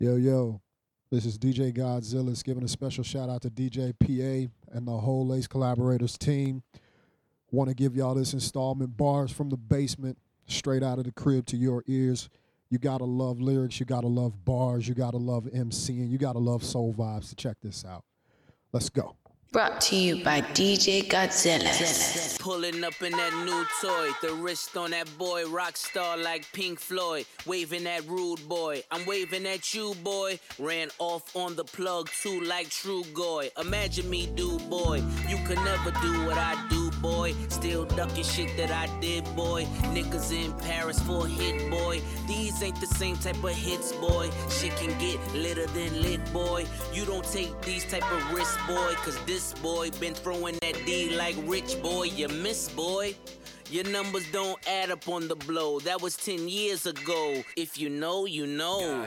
Yo, yo, this is DJ Godzilla giving a special shout out to DJ PA and the whole Lace Collaborators team. Want to give y'all this installment, Bars from the Basement, straight out of the crib to your ears. You gotta love lyrics, you gotta love bars, you gotta love MCing, you gotta love soul vibes. So check this out. Let's go. Brought to you by DJ Godzilla. Pulling up in that new toy, the wrist on that boy, rock star like Pink Floyd, waving at rude boy, I'm waving at you boy, ran off on the plug too like True Goy, imagine me do boy, you can never do what I do boy, still ducking shit that I did boy, niggas in Paris for a hit boy, these ain't the same type of hits boy, shit can get litter than lit boy, you don't take these type of risks boy, cause this boy been throwing that D like Rich boy, you miss boy. Your numbers don't add up on the blow. That was 10 years ago. If you know, you know. Yeah.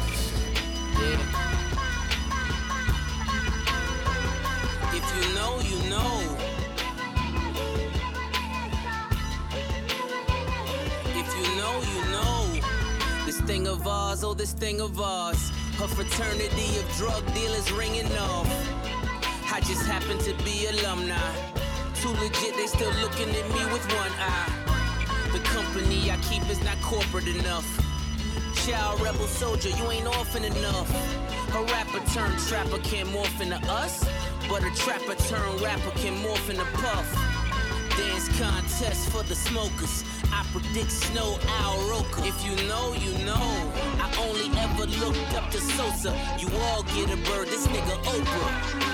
If you know, you know. If you know, you know. This thing of ours, oh this thing of ours. Her fraternity of drug dealers ringing off. I just happen to be alumni. Too legit, they still looking at me with one eye. The company I keep is not corporate enough. Child rebel soldier, you ain't orphan enough. A rapper turned trapper can't morph into us, but a trapper turned rapper can morph into Puff. Dance contest for the smokers. I predict Snow Owl Roker. If you know, you know. I only ever looked up to Sosa. You all get a bird, this nigga Oprah.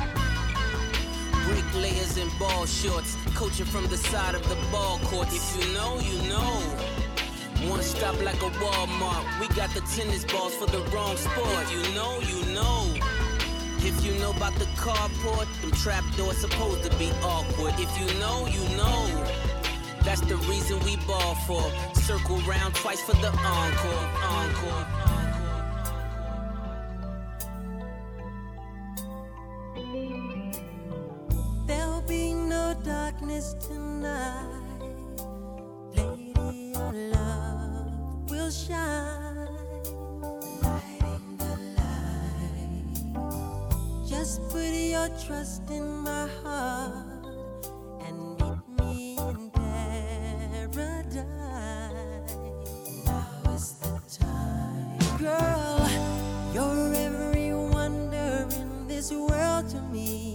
Bricklayers in ball shorts, coaching from the side of the ball court. If you know, you know. One stop like a Walmart. We got the tennis balls for the wrong sport. If you know, you know. If you know about the carport, them trap doors supposed to be awkward. If you know, you know. That's the reason we ball for. Circle round twice for the encore. Encore. Darkness tonight, lady, your love will shine, lighting the light. Just put your trust in my heart and meet me in paradise. Now is the time, girl. You're every wonder in this world to me.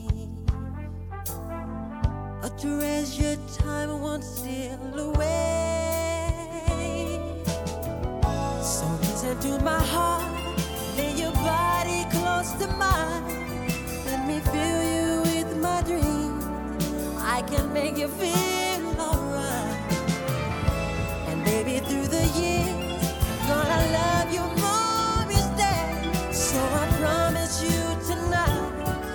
A treasured time won't steal away. So listen to my heart, lay your body close to mine. Let me fill you with my dreams. I can make you feel alright. And baby, through the years, gonna love you more each day. So I promise you tonight.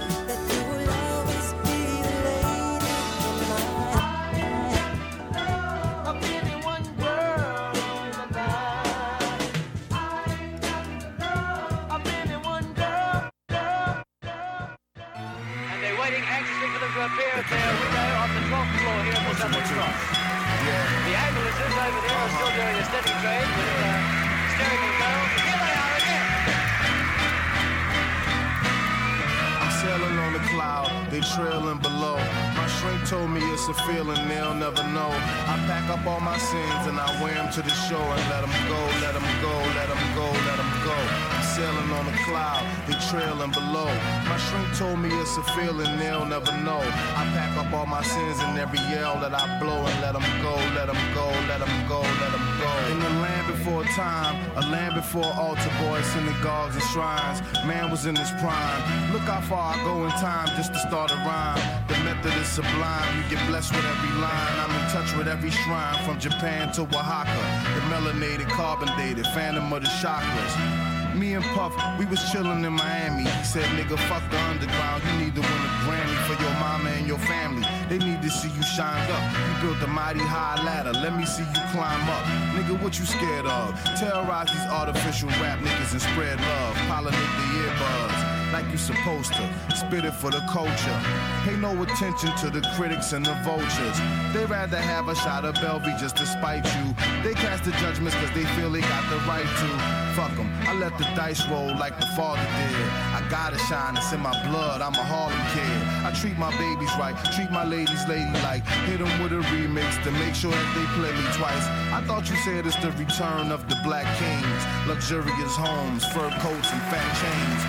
Appear at their window on the 12th floor here at the Southern Cross. The ambulances over there are still doing a steady trade with hysterical girls. Here they are again. I'm sailing on the cloud, they trailing below. My shrink told me it's a feeling they'll never know. I pack up all my sins and I wear them to the shore and let them go, let them go, let them go, let them go. I'm sailing on the cloud, they trailing below. My shrink told me it's a feeling they'll never know. I pack up all my sins and every yell that I blow and let them go, let them go, let them go, let them go. In the land before time, a land before altar boys, synagogues and shrines, man was in his prime. Look how far I go in time just to start a rhyme. The method is sublime, you get blessed with every line. I'm in touch with every shrine, from Japan to Oaxaca. The melanated, carbon dated, phantom of the chakras. Me and Puff, we was chillin' in Miami. He said, nigga, fuck the underground. You need to win a Grammy for your mama and your family. They need to see you shined up. You built a mighty high ladder. Let me see you climb up. Nigga, what you scared of? Terrorize these artificial rap niggas and spread love. Pollinate the earbuds. like you supposed to. Spit it for the culture. Pay no attention to the critics and the vultures. They rather have a shot of Belvy just to spite you. They cast the judgments cause they feel they got the right to. Fuck them, I let the dice roll like the father did. I gotta shine, it's in my blood, I'm a Harlem kid. I treat my babies right, treat my ladies ladylike. Hit them with a remix to make sure that they play me twice. I thought you said it's the return of the black kings. Luxurious homes, fur coats and fat chains.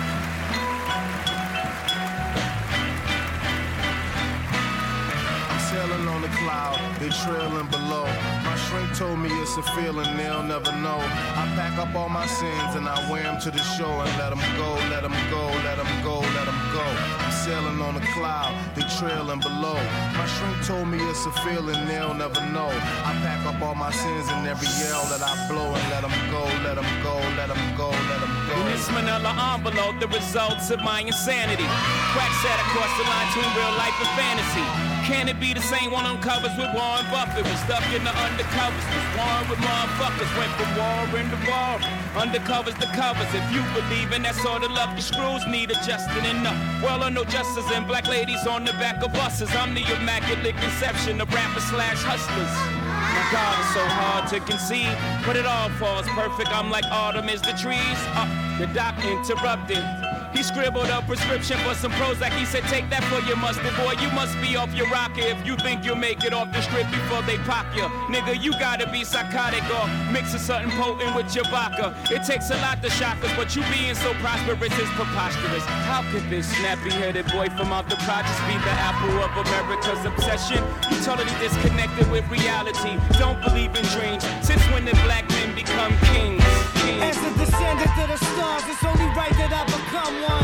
Sailing on the cloud, they trailing below. My shrink told me it's a feeling they'll never know. I pack up all my sins and I wear them to the shore and let them go, let them go, let them go, let them go. I'm sailing on the cloud, they trailing below. My shrink told me it's a feeling they'll never know. I pack up all my sins and every yell that I blow and let them go, let them go, let them go, let them go. In this manila envelope, the results of my insanity. Crack sat across the line between real life and fantasy. Can it be the same one on covers with Warren Buffett? Was stuck in the undercovers, was warring with motherfuckers. Went from war into war, undercovers to covers. If you believe in that sort of love, the screws need adjusting enough. Well, I know justice and black ladies on the back of buses. I'm the immaculate conception of rappers / hustlers. My God, it's so hard to conceive, but it all falls perfect. I'm like autumn is the trees. The doc interrupted. He scribbled a prescription for some Prozac. He said, take that for your mustard, boy. You must be off your rocker if you think you'll make it off the strip before they pop you. Nigga, you gotta be psychotic or mixing something potent with your vodka. It takes a lot to shock us, but you being so prosperous is preposterous. How could this snappy-headed boy from out the projects be the apple of America's obsession? You totally disconnected with reality. Don't believe in dreams. Since when did black men become kings? As a descendant of the stars, it's only right that I become one.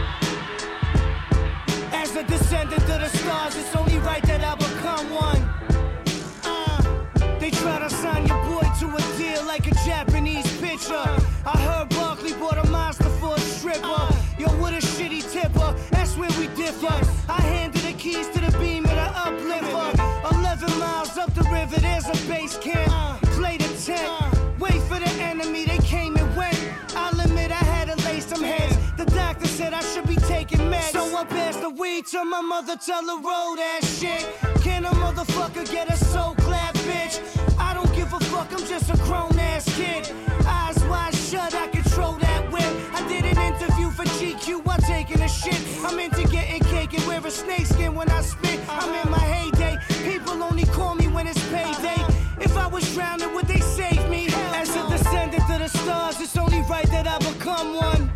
As a descendant of the stars, it's only right that I become one. They try to sign your boy to a deal like a Japanese pitcher. I heard Barkley bought a monster for a stripper. Yo, what a shitty tipper, that's where we differ. I handed the keys to the beam of the uplifter. 11 miles up the river, there's a base camp. Play the tent. Wait for the enemy, they came and went. I'll admit I had to lay some heads. The doctor said I should be taking meds. So I passed the weed to my mother, tell her roll that shit. Can a motherfucker get a soul clap, bitch? I don't give a fuck, I'm just a grown ass kid. Eyes wide shut, I control that whip. I did an interview for GQ while taking a shit. I'm into getting cake and wear a snakeskin when I spit. I'm in my heyday, people only call me when it's payday. If I was drowning, would they save me? As a descendant of the stars, it's only right that I become one.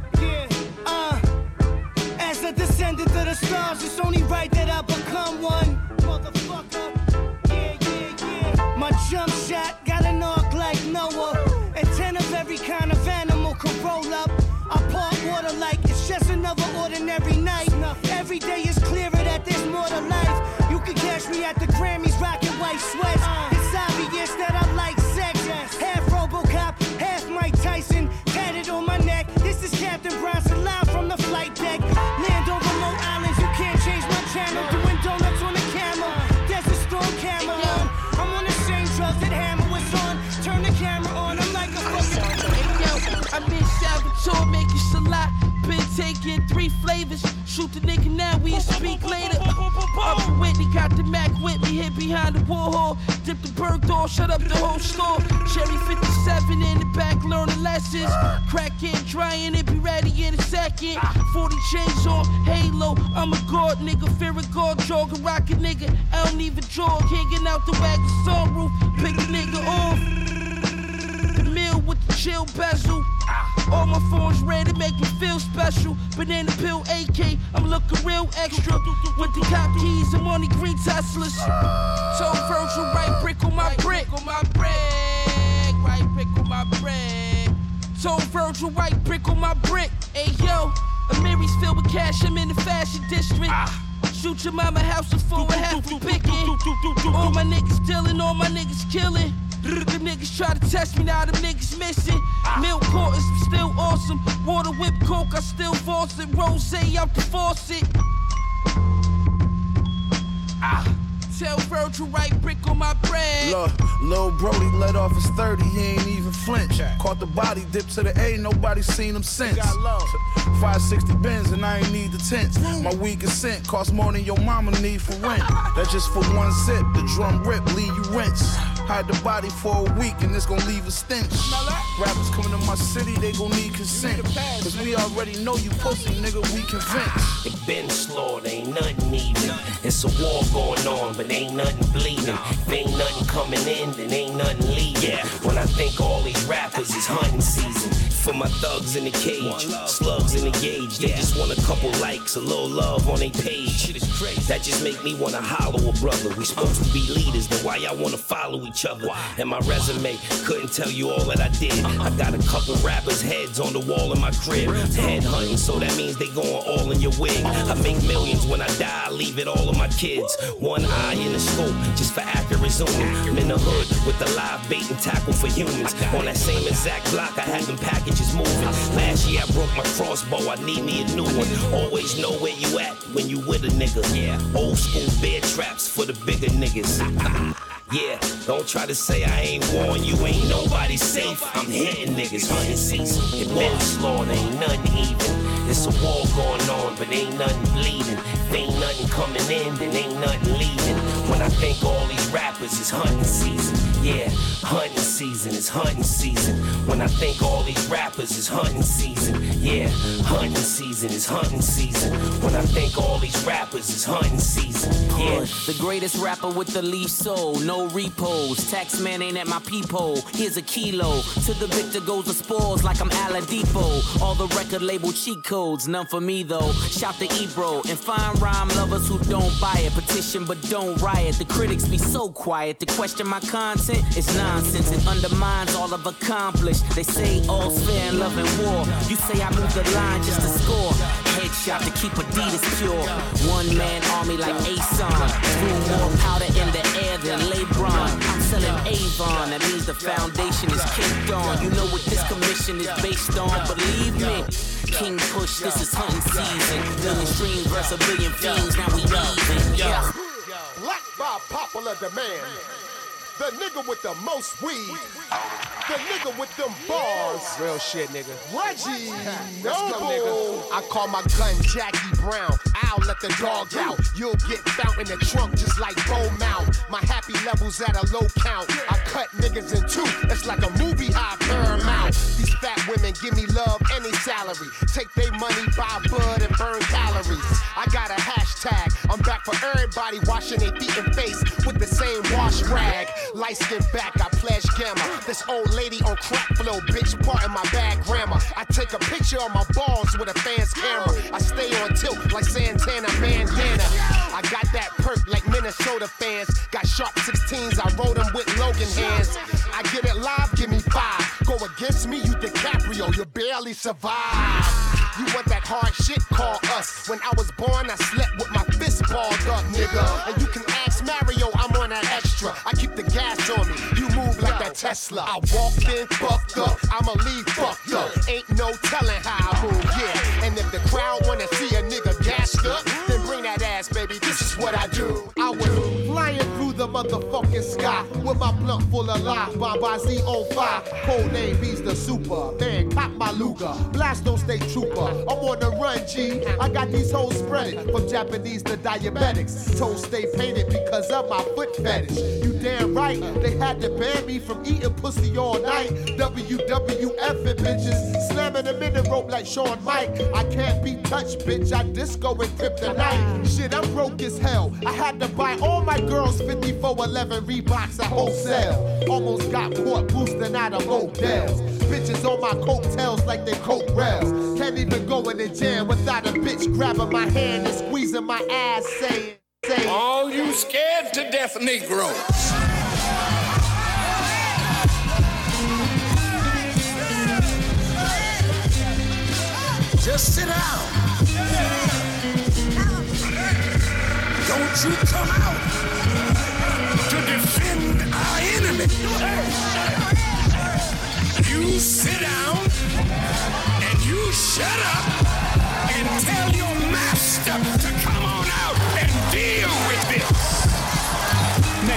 As a descendant of the stars, it's only right that I become one. Motherfucker, yeah. My jump shot got an arc like Noah, and 10 of every kind of animal could roll up. I part water like it's just another ordinary night. Every day is clearer that there's more to life. You can catch me at the Grammys rocking white sweats. It's obvious that I like sex. Half RoboCop, half Mike Tyson, tatted on my neck. This is Captain Bronson live from the flight deck. Land on remote islands, you can't change my channel. Doing donuts on the camera, Desert Storm camera on. I'm on the same drugs that Hammer was on. Turn the camera on, I'm like a fucking. Hey yo, I'm in Salvatore making salat. Been taking 3 flavors. Shoot the nigga now, we speak later. Up Whitney, got the Mac with me, hid behind the Warhol. Dip the bird door, shut up the whole store. Cherry 57 in the back, learning lessons. Crack it, drying it, be ready in a second. 40 chains on, halo, I'm a god nigga. Fear a god, jog a rocket nigga. I don't even jog, hanging out the wagon sunroof. Pick a nigga off. The meal with the chill bezel. All my phones red to make me feel special. Banana pill AK, I'm looking real extra. With the cop keys and money green Teslas. Told Virgil, right brick on my brick. Right brick on my brick. Told Virgil, right brick on my brick. Hey yo, Amiri's filled with cash, I'm in the fashion district. Shoot your mama house before a half for picking. All my niggas dealing, all my niggas killing. The niggas try to test me, now them niggas missing. Milk quarters, still awesome. Water whip coke, I still force it. Rosé out the faucet. tell Virgil right brick on my bread. Look, Lil Brody let off his 30, he ain't even flinch. Caught the body, dip to the A, nobody seen him since. 560 Benz and I ain't need the tents. My weed consent cost more than your mama need for rent. That's just for one sip, the drum rip, leave you rinse. Hide the body for a week and it's gon' leave a stench. Rappers coming to my city, they gon' need consent. Cause we already know you pussy, nigga, we convinced. They been slaughtered, ain't nothing even. It's a war going on, but ain't nothing bleeding. If ain't nothing coming in, then ain't nothing leaving. When I think all these rappers is hunting season. For my thugs in the cage, slugs in the gauge. They just want a couple likes, a little love on their page. That just make me wanna hollow a brother. We supposed to be leaders, then why y'all wanna follow each other? And my resume couldn't tell you all that I did. I got a couple rappers' heads on the wall in my crib. Head hunting, so that means they going all in your wig. I make millions when I die, I leave it all on my kids. One eye in the scope, just for accurate zooming. I'm in the hood with the live bait and tackle for humans. On that same exact block, I had them packages moving. Last year I broke my crossbow, I need me a new one. Always know where you at when you with a nigga. Old school bear traps for the bigger niggas. Yeah, don't try to say I ain't warned you, ain't nobody safe. I'm hitting niggas, hunting season. It been slaughtered, ain't nothing even. It's a war going on, but ain't nothing bleeding. If ain't nothing coming in, then ain't nothing leaving. When I think all these rappers is hunting season. Yeah, hunting season is hunting season. When I think all these rappers is hunting season. Yeah, hunting season is hunting season. When I think all these rappers is hunting season. Yeah, the greatest rapper with the least soul, no repos. Taxman ain't at my peephole. Here's a kilo. To the victor goes the spoils like I'm Aladipo. All the record label cheat codes, none for me though. Shout to Ebro and fine rhyme lovers who don't buy it. Petition but don't riot. The critics be so quiet to question my content. It's nonsense, it undermines all I've accomplished. They say all's fair in love and war. You say I move the line just to score. Headshot to keep Adidas pure. One man army like Ason. Threw more powder in the air than LeBron. I'm selling Avon, that means the foundation is kicked on. You know what this commission is based on, believe me. King Push, this is hunting season. Million streams versus a billion fiends, now we even. Yeah. Black by popular demand. The nigga with the most weed. The nigga with them bars. Real shit, nigga. Reggie Noble. I call my gun Jackie Brown. I'll let the dog out. You'll get found in the trunk just like Bo Mount. My happy levels at a low count. I cut niggas in two. It's like a movie high Paramount. These fat women give me love and they salary. Take their money, buy bud and burn calories. I got a hashtag. I'm back for everybody washing their feet and face with the same wash rag. Light skin back, I pledge gamma. This old lady on crack flow, bitch, part in my bad grammar. I take a picture of my balls with a fan's camera. I stay on tilt like Santana bandana. I got that perk like Minnesota fans. Got sharp 16s, I roll them with Logan hands. I get it live, give me 5. Go against me, you DiCaprio, you barely survive. You want that hard shit, call us. When I was born, I slept with my fist balled up, nigga. And you can ask Mario, I'm on that extra. I keep the gas on me, you move like that Tesla. I walked in, fucked up, I'ma leave fucked up. Ain't no telling how I move, yeah. And if the crowd wanna see a nigga gassed up, then bring that ass, baby, this is what I do. I was flying through the motherfucking sky with my blunt full of life. Baba Z05, code name B's the super. Man, pop my Luger, blast don't stay trooper. I'm on the run, G. I got these hoes spreaded from Japanese to diabetics. Toes stay painted because of my foot fetish. You damn right, they had to ban me from eating pussy all night. WWF and bitches, slamming them in the rope like Shawn Mike. I can't be touched, bitch. I disco and kryptonite. Shit, I'm broke as hell. I had to buy all my girls 5411 Reeboks at wholesale. Almost got caught boosting out of motels. Bitches on my coattails like they coke rails. Can't even go in the jam without a bitch grabbing my hand and squeezing my ass, saying, all you scared to death Negroes. Just sit down. Don't you come out to defend our enemy. You sit down and you shut up and tell your master to come on out and deal with this.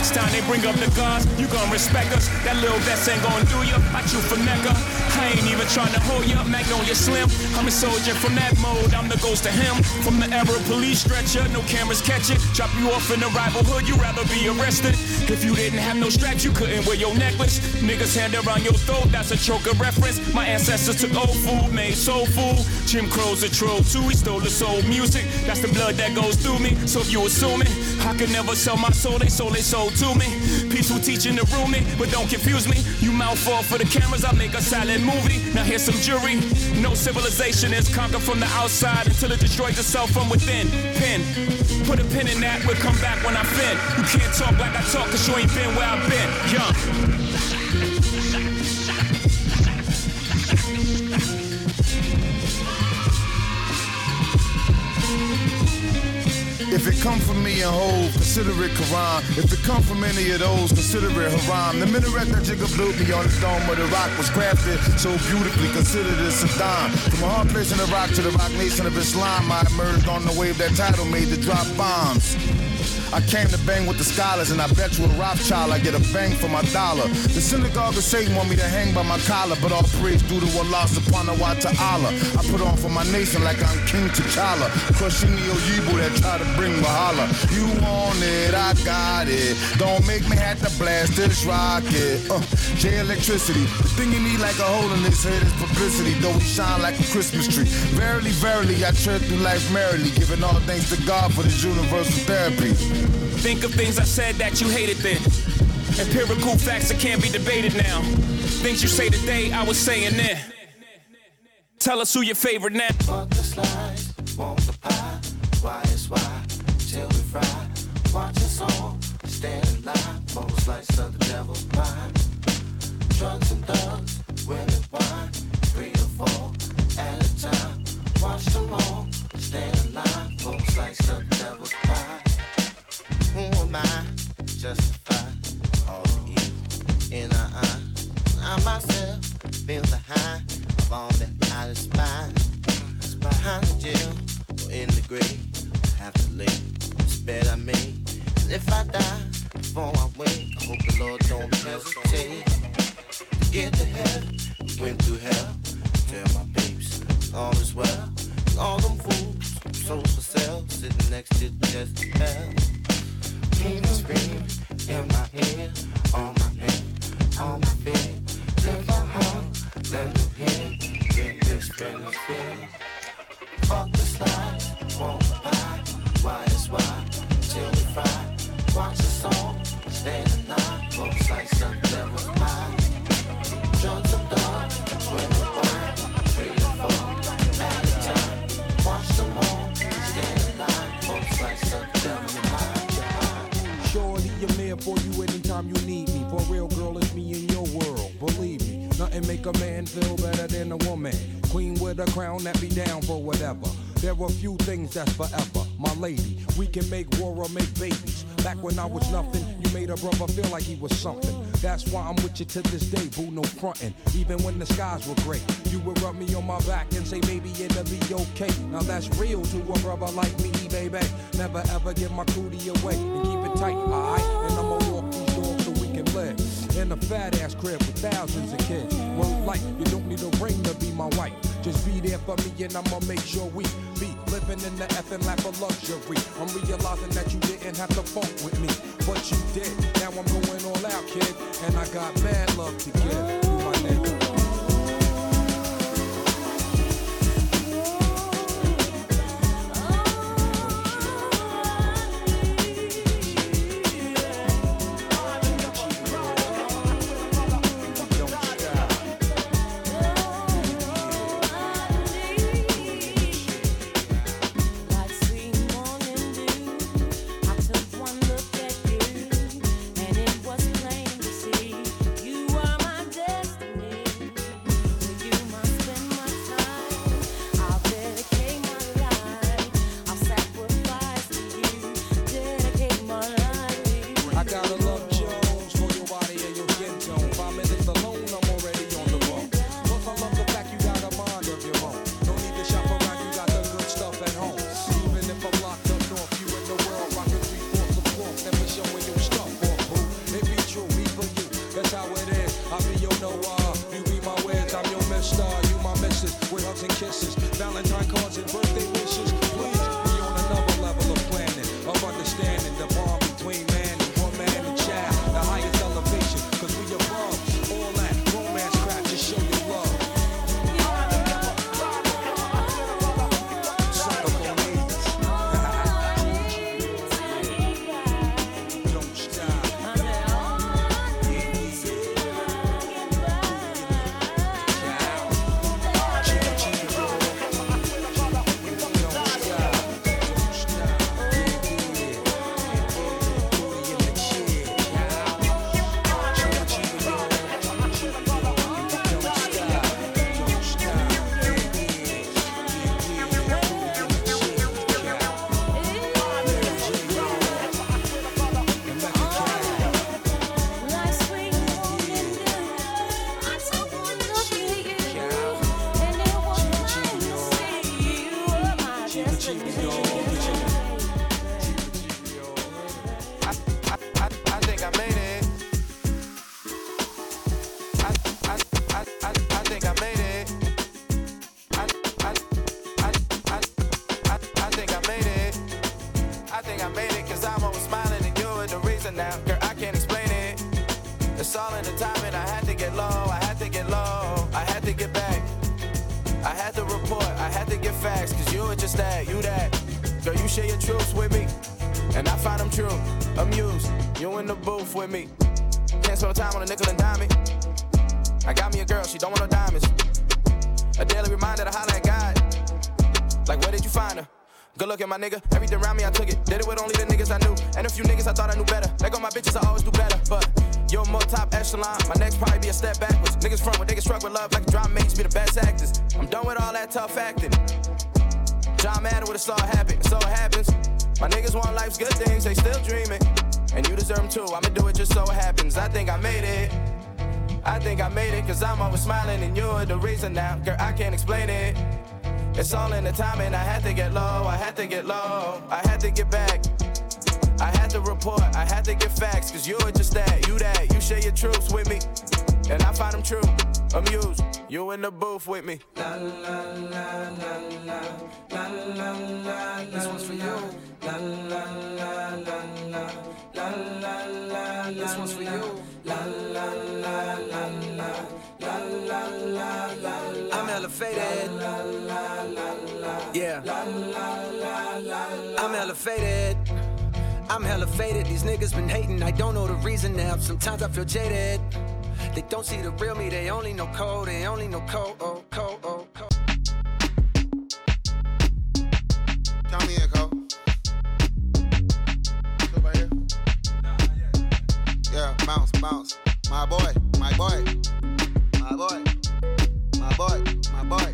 Next time they bring up the guns, you gon' respect us. That little vest ain't gon' do ya. I chew for Necca. I ain't even tryna hold ya. Magnolia Slim. I'm a soldier from that mode. I'm the ghost of him. From the era of police stretcher, no cameras catch it. Drop you off in the rival hood, you rather be arrested. If you didn't have no straps, you couldn't wear your necklace. Niggas hand around your throat, that's a choker reference. My ancestors took old food, made soul food. Jim Crow's a troll too, he stole the soul music. That's the blood that goes through me. So if you assuming I could never sell my soul, they sold to me. Peaceful teaching to rule me, but don't confuse me. You mouth fall for the cameras, I make a silent movie. Now here's some jury. No civilization is conquered from the outside until it destroys itself from within. Pin, put a pin in that, we'll come back when I fin. You can't talk like I talk, cause you ain't been where I've been. Young. If it come from me and Hov, consider it Quran. If it come from any of those, consider it haram. The minaret that Jigga blew me on the dome of the rock was crafted so beautifully, considered it Saddam. From a hard place in Iraq to the rock nation of Islam, I emerged on the wave that title made to drop bombs. I came to bang with the scholars, and I bet you a Rothschild I get a bang for my dollar. The synagogue of Satan want me to hang by my collar, but all praise due to Allah subhanahu wa ta'ala. I put on for my nation like I'm King T'Challa, crushing the Oyibo that try to bring Wahala. You want it, I got it. Don't make me have to blast this rocket. J electricity. The thing you need like a hole in his head is publicity, though we shine like a Christmas tree. Verily, verily, I tread through life merrily, giving all thanks to God for this universal therapy. Think of things I said that you hated then. Empirical facts that can't be debated now. Things you say today, I was saying then. Tell us who your favorite now. Fuck the slides, want the pie. Why is why, till we fry. Watch us all, stand in line. For a slice of the devil's pie. Drugs and thugs, women, wine. 3 or 4 at a time. Watch them all, stand in line. For a slice of the devil's pie. Who am I? Justify all the evil in our eyes. I myself feel the high of all that I despise. Behind the jail or in the grave, I have to live. It's better I made. And if I die before I wake, I hope the Lord don't hesitate to get to heaven. We went through hell. Tell my babes all is well. And all them fools, souls for sale, sitting next to just hell. Scream in my head, on my head, on my bed. Let my heart, let me hear, get this benefit. Fuck the slides, won't buy, why is why, till we fry. Watch the song, stand in line, for a slice of devil's pie. Drugs and dogs, when we wine, 3 or 4 at a time. Watch them all, stand in line, for a slice of devil's pie. Surely I'm there for you anytime you need me. For real, girl, it's me in your world. Believe me, nothing make a man feel better than a woman. Queen with a crown that be down for whatever. There are few things that's forever. My lady, we can make war or make babies. Back when I was nothing, you made a brother feel like he was something. That's why I'm with you to this day, boo, no frontin'. Even when the skies were gray, you would rub me on my back and say, baby, it'll be okay. Now that's real to a brother like me, baby. Never ever give my cootie away and keep it tight, alright? And I'ma walk these doors so we can live in a fat ass crib with thousands of kids. Word life, you don't need a ring to be my wife. Just be there for me and I'ma make sure we be living in the effing lap of luxury. I'm realizing that you didn't have to fuck with me, but you did. Now I'm going all out, kid, and I got mad love to give. You my nigga. and kisses, Valentine cards and birthday wishes. Please, we on another level of planning, of understanding the bond between man and woman and child, the highest elevation, cause we above all that romance crap, just show your love. With me, can't spend time on a nickel and dime me. I got me a girl, she don't want no diamonds. A daily reminder to holler at God. Like, where did you find her? Good looking, my nigga. Everything around me, I took it. Did it with only the niggas I knew. And a few niggas I thought I knew better. Let go my bitches, I always do better. But you're more top echelon. My next probably be a step backwards. Niggas front when they get struck with love like drama mates be the best actors. I'm done with all that tough acting. John Madden would have saw it happen. So it happens. My niggas want life's good things, they still dreaming. And you deserve them too, I'ma do it just so it happens. I think I made it. I think I made it, cause I'm always smiling and you're the reason now. Girl, I can't explain it. It's all in the timing, I had to get low, I had to get low. I had to get back. I had to report, I had to get facts. Cause you're just that, you share your truths with me. And I find them true, amused. You in the booth with me. La la la la la la la la. This one's for you. La la la la la la la la. This one's for you. La la la la la la la la la. I'm elevated. Yeah. I'm elevated. I'm hella faded. These niggas been hating. I don't know the reason now. Sometimes I feel jaded. They don't see the real me, they only know code, they only know code, oh, code, oh, code. Count me in, Cole. Sit right here. Yeah, bounce, bounce. My boy, my boy. My boy. My boy, my boy.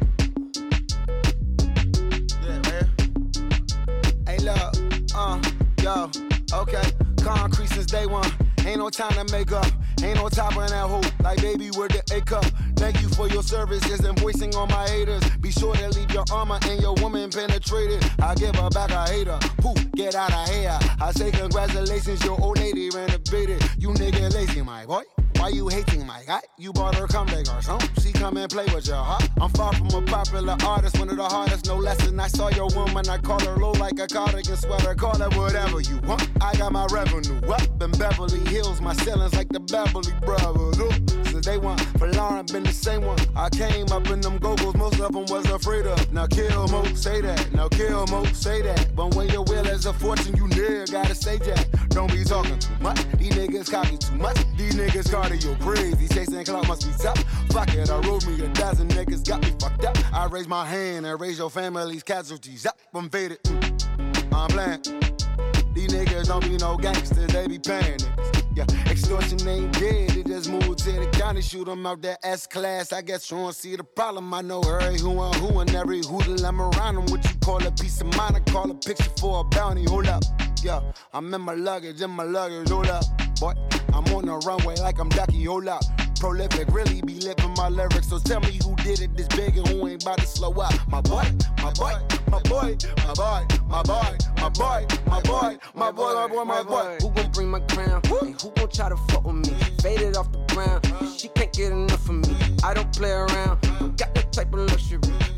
Yeah, right here. Hey, look, yo, okay. Concrete since day one. Ain't no time to make up. Ain't no top on that hoe, like baby with the A cup. Thank you for your services and voicing on my haters. Be sure to leave your armor and your woman penetrated. I give her back a hater. Poof, get out of here. I say congratulations, your old lady renovated. You nigga lazy, my boy. Why you hating my guy? You bought her come back or something. She come and play with your heart. I'm far from a popular artist, one of the hardest, no less than I saw your woman. I call her low like a cardigan sweater. Call her whatever you want. I got my revenue up in Beverly Hills. My ceilings like the Beverly Brothers. Ooh. Since day one, for Lauren been the same one. I came up in them go-go's, most of them was afraid of. Now kill Mo, say that. Now kill Mo, say that. But when your will is a fortune, you never gotta say that. Don't be talking too much. These niggas copy too much. These niggas cardio crazy. Chasing clout must be tough. Fuck it, I wrote me a dozen niggas got me fucked up. I raise my hand and raise your family's casualties up. I'm faded. I'm playing. These niggas don't be no gangsters, they be paying niggas. Yeah, extortion ain't dead, they just moved to the county, shoot them out that S-class. I guess you don't see the problem, I know every who and every hoodle I'm around them. What you call a piece of mind, I call a picture for a bounty, hold up. Yeah, I'm in my luggage, hold up. Boy, I'm on the runway like I'm Ducky, hold up. Prolific, really be living my lyrics. So tell me who did it this big and who ain't about to slow up. My boy, my boy, my boy, my boy, my boy, my boy, my boy, my boy, my boy, my boy. Who gon' bring my crown? And who gon' try to fuck with me? Faded off the ground. She can't get enough of me. I don't play around. Don't got that type of luxury. Bitches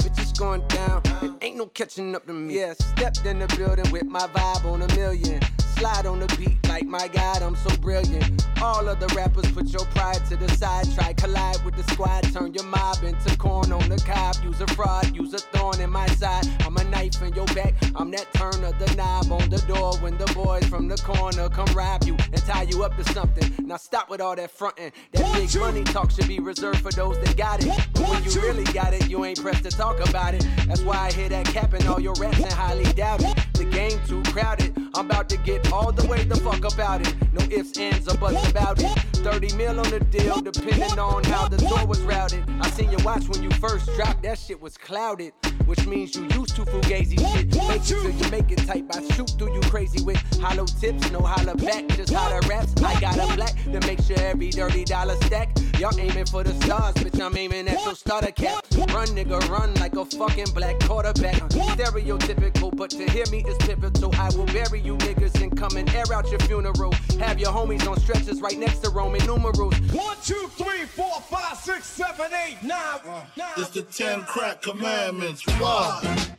going down, and ain't no catching up to me. Yeah, stepped in the building with my vibe on a million. Slide on the beat like, my God, I'm so brilliant. All of the rappers put your pride to the side. Try collide with the squad, turn your mob into corn on the cob. Use a fraud, use a thorn in my side. I'm a knife in your back, I'm that turn of the knob on the door. When the boys from the corner come rob you and tie you up to something. Now stop with all that frontin'. That big money talk should be reserved for those that got it. But when you really got it, you ain't pressed to talk about it. That's why I hear that cap in all your raps and highly doubt it. The game too crowded, I'm about to get all the way the fuck about it. No ifs, ands, or buts about it. 30 mil on the deal, depending on how the door was routed. I seen you watch when you first dropped, that shit was clouded. Which means you used to fugazi shit. Make it till you make it type. I shoot through you crazy with hollow tips, no holler back, just holler raps. I got a black to make sure every dirty dollar stack. Y'all aiming for the stars, bitch, I'm aiming at your starter cap. Run, nigga, run like a fucking black quarterback. Stereotypical, but to hear me is pivotal. I will bury you niggas and come and air out your funeral. Have your homies on stretchers right next to Roman numerals. 1, 2, 3, 4, 5, 6, 7, 8, 9. It's the 10 crack commandments. Why?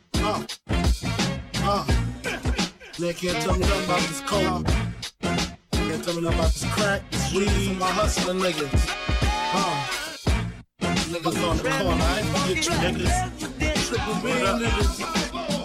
They can't tell me nothing about this coke. Can't tell me nothing about this crack, this weed, and my hustling niggas. Niggas on the corner, I ain't gonna get you niggas. Triple B niggas.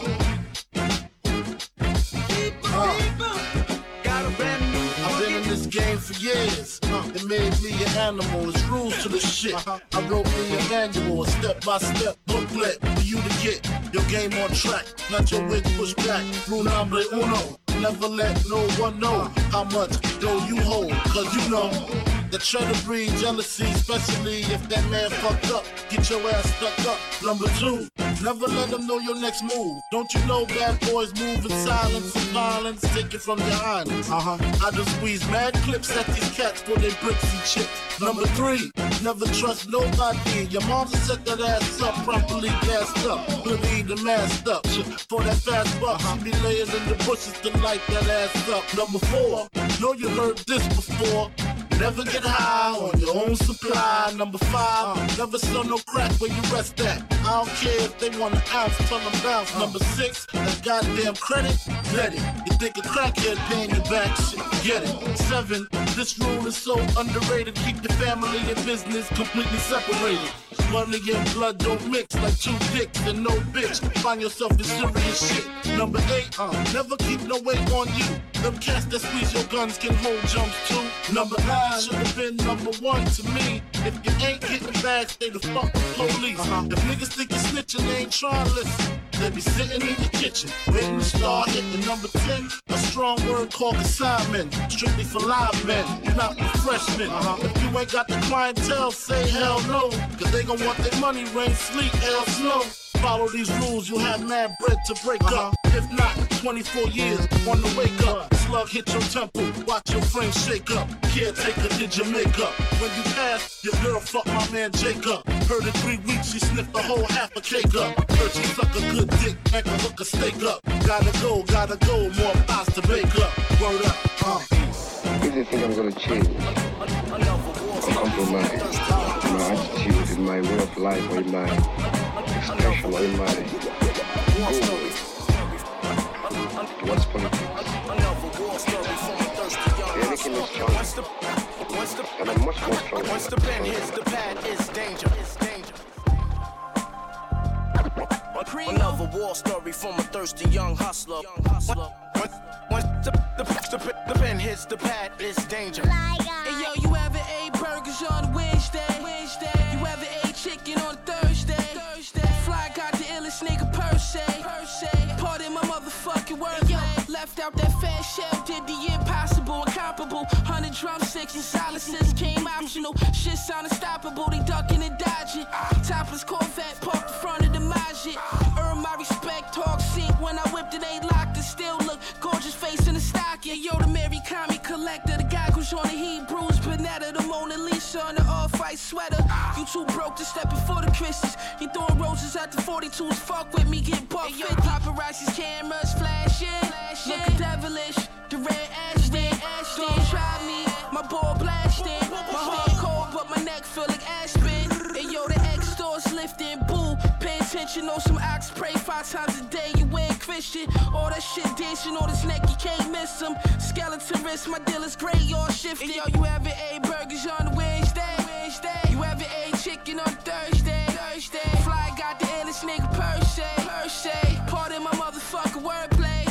I've been in this game for years. It made me an animal. It's rules to the shit. I wrote me a manual, a step-by-step booklet for you to get your game on track. Not your wig pushed back. Rule number uno. Never let no one know how much dough you hold. Cause you know that try to breed jealousy, especially if that man fucked up. Get your ass stuck up. Number 2, never let them know your next move. Don't you know bad boys move in silence and violence? Take it from your highness. I just squeeze mad clips at these cats for their bricks and chips. Number 3, never trust nobody. Your mom set that ass up, properly gassed up, hoodie and masked up. For that fast buck, she be laying in the bushes to light that ass up. Number 4, know you heard this before. Never get high on your own supply. Number 5, never sell no crack where you rest at. I don't care if they want an ounce, tell them bounce. Number 6, that goddamn credit, let it. You think a crackhead paying you back, shit, get it. 7, this rule is so underrated. Keep your family and business completely separated. Money and blood don't mix like 2 dicks and no bitch. Find yourself in serious shit. Number 8, never keep no weight on you. Them cats that squeeze your guns can hold jumps too. Number 9 should have been number 1 to me. If you ain't getting back, stay the fuck with police. If niggas think you're snitching, they ain't trying to listen. They be sitting in the kitchen, waiting to start hitting. Number 10, a strong word called consignment. Strictly for live men, not for freshmen. If you ain't got the clientele, say hell no. Cause they gon' want their money, rain, sleet, hell, snow. Follow these rules, you'll have mad bread to break up. If not, 24 years, on the wake up. Slug hit your temple, watch your frame shake up. Caretaker did your makeup. When you pass, your girl fucked my man Jacob. Heard in 3 weeks, she sniffed the whole half a cake up. Heard she suck a good dick, make her hook a steak up. Gotta go, more pies to bake up. Word up, If they think I'm gonna change, or compromise in my attitude, in my way of life, or in my expression, or in my goal towards politics, the Anakin is strong, and I'm much more strong. Once the pen hits the pad, it's danger. Another war story from a thirsty young hustler. Once the pen hits the pad, it's danger. Hey yo, you ever ate burgers on Wednesday? You ever ate chicken on Thursday? Fly got the illest nigga per se. Pardon my motherfucking word. Yo, left out that fat shell, did the impossible, incomparable. 100 drumsticks and silences came optional. Shit sound unstoppable, they ducking and dodging. Topless Corvette parked in front of the Majid. Earn my respect, talk sink when I whipped it, ain't locked it. Still look gorgeous face in the stock. Yeah, yo, the Mary Commie collector, the guy who's on the Hebrews, Panetta, the Mona Lisa on the all-white sweater. You too broke to step before the Christians. You throwing roses at the 42s, fuck with me, get buck. Hey, yo, paparazzi's cameras flashing, looking devilish. The red Ashton, don't try me, my ball blasting. My heart cold, but my neck feel like Aspen. And yo, the X stores lifting, boo. Pay attention bitch, you know some ox pray 5 times a day. You ain't Christian. All that shit dancing on his neck, you can't miss him. Skeleton wrist, my dealer's gray, all shifted. Hey, yo, you ever ate burgers on Wednesday? You ever ate chicken on Thursday? Fly got the illest nigga per se. Pardon my motherfucking wordplay.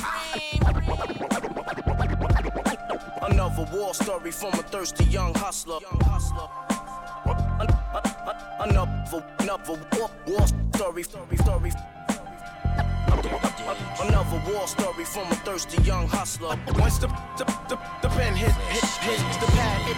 Another war story from a thirsty young hustler. Another war story. Another war story from a thirsty young hustler. Once the pen hits the pad,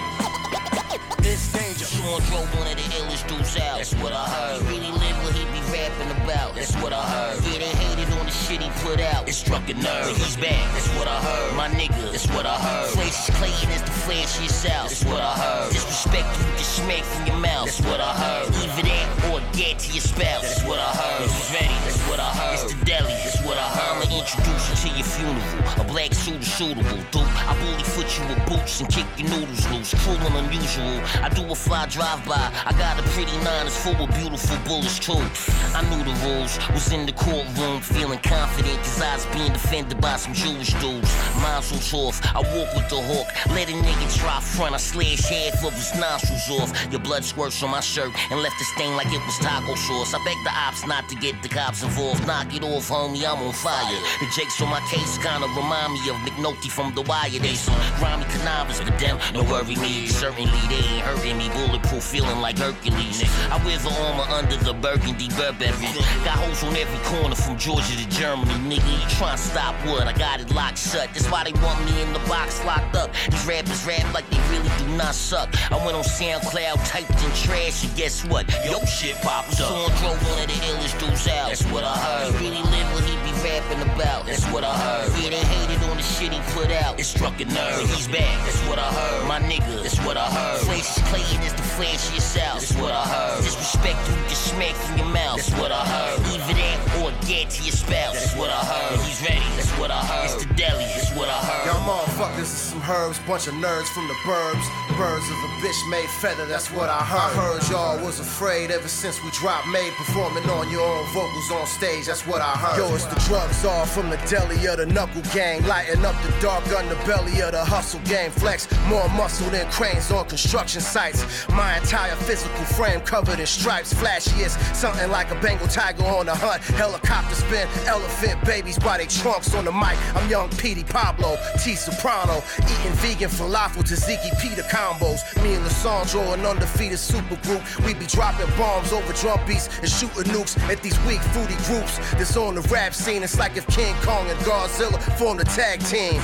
it's danger. Sean drove one of the illest dudes out. That's what I heard. He really lived what he be rapping about. That's what I heard. Yeah, they hated on the shit he put out. It struck a nerve. But he's back. That's what I heard. My nigga. That's what I heard. Flash is Clayton is the flashiest out. That's what I heard. Disrespect you get smacked from your mouth. That's what I heard. Either that or dead to your spouse. That's what I heard. He's ready. That's what I heard. It's the deli. That's what I heard. I'ma introduce you to your funeral. A black suit is suitable, dude. I bully foot you with boots and kick your noodles loose. Cruel and unusual. I do a fly drive-by. I got a pretty 9 full of beautiful bullets too. I knew the rules. Was in the courtroom feeling confident cause I was being defended by some Jewish dudes. Miles was off. I walk with the hawk. Let a nigga try front. I slash half of his nostrils off. Your blood squirts on my shirt and left a stain like it was taco sauce. I beg the ops not to get the cops involved. Knock it off, homie, I'm on fire. The jakes on my case kinda remind me of McNulty from The Wire. They some grimy connivers, but them no worry me. Certainly they ain't hurting me. Bulletproof feeling like Hercules. I wear the armor under the burgundy Burberry. Got holes on every corner from Georgia to Germany. Nigga, you tryna stop what? I got it locked shut. That's why they want me in the box locked up. These rappers rap like they really do not suck. I went on SoundCloud, typed in trash, and guess what? Yo shit popped up. Sean drove one of the illest dudes out. That's what I heard. He really lived what he be rapping about. That's what I heard. Yeah, they hated on the shit he put out. It struck a nerve. He's back. That's what I heard. My nigga. That's what I heard. Flash is Clayton is the flashiest out. That's what I heard. Disrespect you get smacked from your mouth. That's what I heard. Either that or dead to your spouse. That's what I heard. He's ready. That's what I heard. It's the deli. That's what I heard. Y'all motherfuckers is some herbs, bunch of nerds from the burbs. Birds of a bitch made feather, that's what I heard. I heard y'all was afraid ever since we dropped Made, performing on your own vocals on stage, that's what I heard. Yo, it's the drugs all from the deli of the knuckle gang, lighting up the dark underbelly of the hustle game. Flex more muscle than cranes on construction sites. My entire physical frame covered in stripes, flashiest, something like a Bengal tiger on the hunt. Helicopter spin, elephant babies by they trunks on the mic. I'm young Petey Pablo, T Soprano, eating vegan falafel tzatziki pita combos. Me and Lissandro, an undefeated supergroup. We be dropping bombs over drum beats and shooting nukes at these weak foodie groups that's on the rap scene. It's like if King Kong and Godzilla formed a tag team.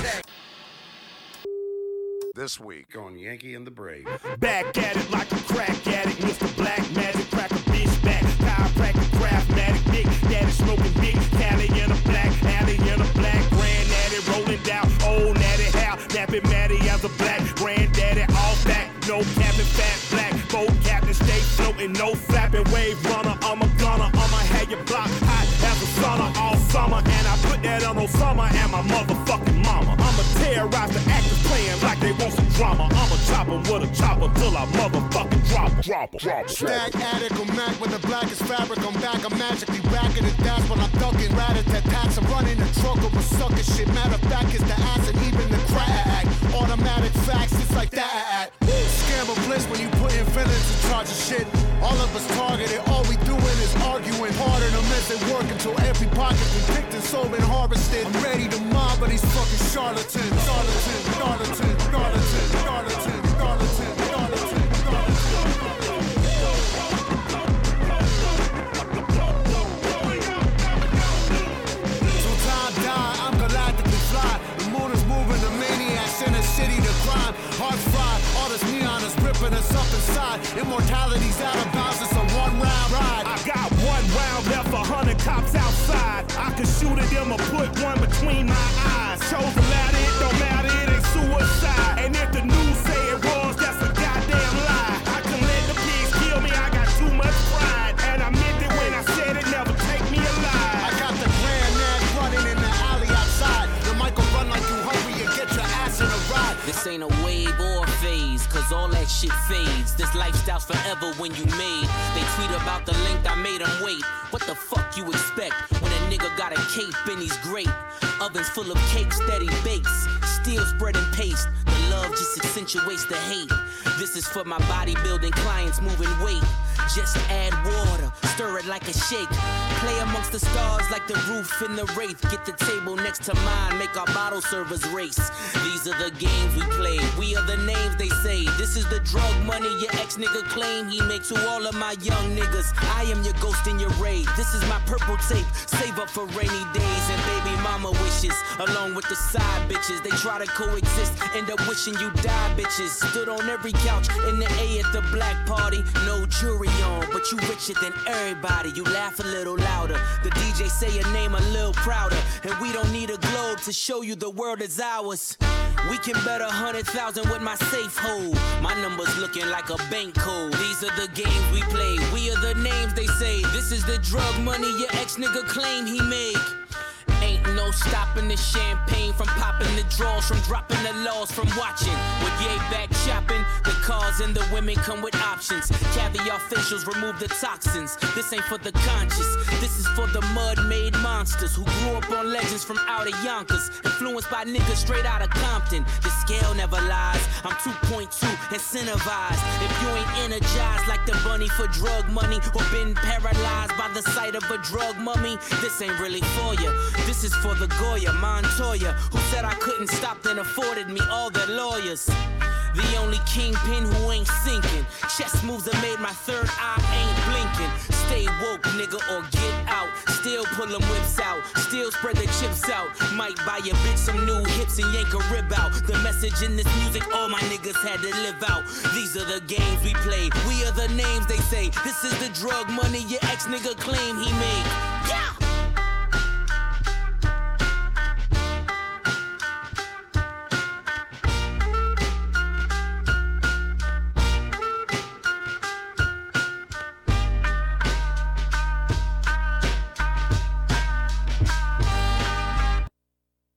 This week on Yankee and the Brave. Back at it like a crack addict, Mr. Black Magic, crack a bitch back. Chiropractic, craftmatic, big daddy smoking big Cali in a black alley in a black granddaddy rolling down old natty how nappy Matty as a black granddaddy all back, no cabin fat black boat captain stay floating, no flapping wave runner. I'm a gunner, I'ma have your block hot as a sauna all summer, and I put that on Osama and my motherfucking mama. I'ma terrorize the actors playing like they want some drama. I'ma chop 'em with a chopper till I motherfucking drop 'em. Stack addict or Mac when the blackest fabric. I'm back, I'm magically racking it. That's when I'm ducking rat-a-tat-tats. I'm running the truck over sucker shit. Matter of fact, it's the ass and even the crack. Automatic facts, it's like that. Scam or bliss when you put in feelings in charge of shit. All of us targeted, all we doing is arguing. Harder to miss it work until every pocket we picked and sold and harvested. I'm ready to mob, but these fucking charlatans. Charlatan. Hearts fried, all this neon is ripping us up inside. Immortality's out of bounds, it's a one-round ride. I got 1 round left, 100 cops outside. I can shoot at them or put one between my eyes. Chose to let it, don't matter, it ain't suicide. And if the news say it was, that's a goddamn lie. I can let the pigs kill me, I got too much pride. And I meant it when I said it, never take me alive. I got the grand man running in the alley outside. The mic will run like you hungry and get your ass in a ride. This ain't a wave or a phase, cause all that shit fades. This lifestyle's forever when you made. They tweet about the length I made them wait. What the fuck you expect when a nigga got a cape and he's great? Ovens full of cakes that he bakes. Still spreading paste. The love just accentuates the hate. This is for my bodybuilding clients moving weight. Just add water, stir it like a shake. Play amongst the stars like the roof in the Wraith. Get the table next to mine, make our bottle servers race. These are the games we play, we are the names they say. This is the drug money your ex-nigga claim he makes to all of my young niggas. I am your ghost in your raid. This is my purple tape, save up for rainy days and baby mama wishes. Along with the side bitches, they try to coexist, end up wishing you die bitches. Stood on every couch in the A at the black party, no jury on, but you richer than everybody. You laugh a little louder, the DJ say your name a little prouder, and we don't need a globe to show you the world is ours. We can bet 100,000 with my safe hold. My numbers looking like a bank code. These are the games we play, we are the names they say. This is the drug money your ex-nigga claim he make. Ain't no stopping the champagne from popping the draws, from dropping the laws, from watching. With yay back shopping, the cars and the women come with options. Caviar facials remove the toxins. This ain't for the conscious, this is for the mud-made monsters who grew up on legends from out of Yonkers, influenced by niggas straight out of Compton. The scale never lies, I'm 2.2 incentivized. If you ain't energized like the bunny for drug money, or been paralyzed by the sight of a drug mummy, this ain't really for you. This is for the Goya, Montoya, who said I couldn't stop then afforded me all their lawyers. The only kingpin who ain't sinking. Chess moves that made my third eye ain't blinking. Stay woke, nigga, or get out. Still pull them whips out, still spread the chips out. Might buy your bitch some new hips and yank a rib out. The message in this music all my niggas had to live out. These are the games we play, we are the names they say. This is the drug money your ex-nigga claim he made.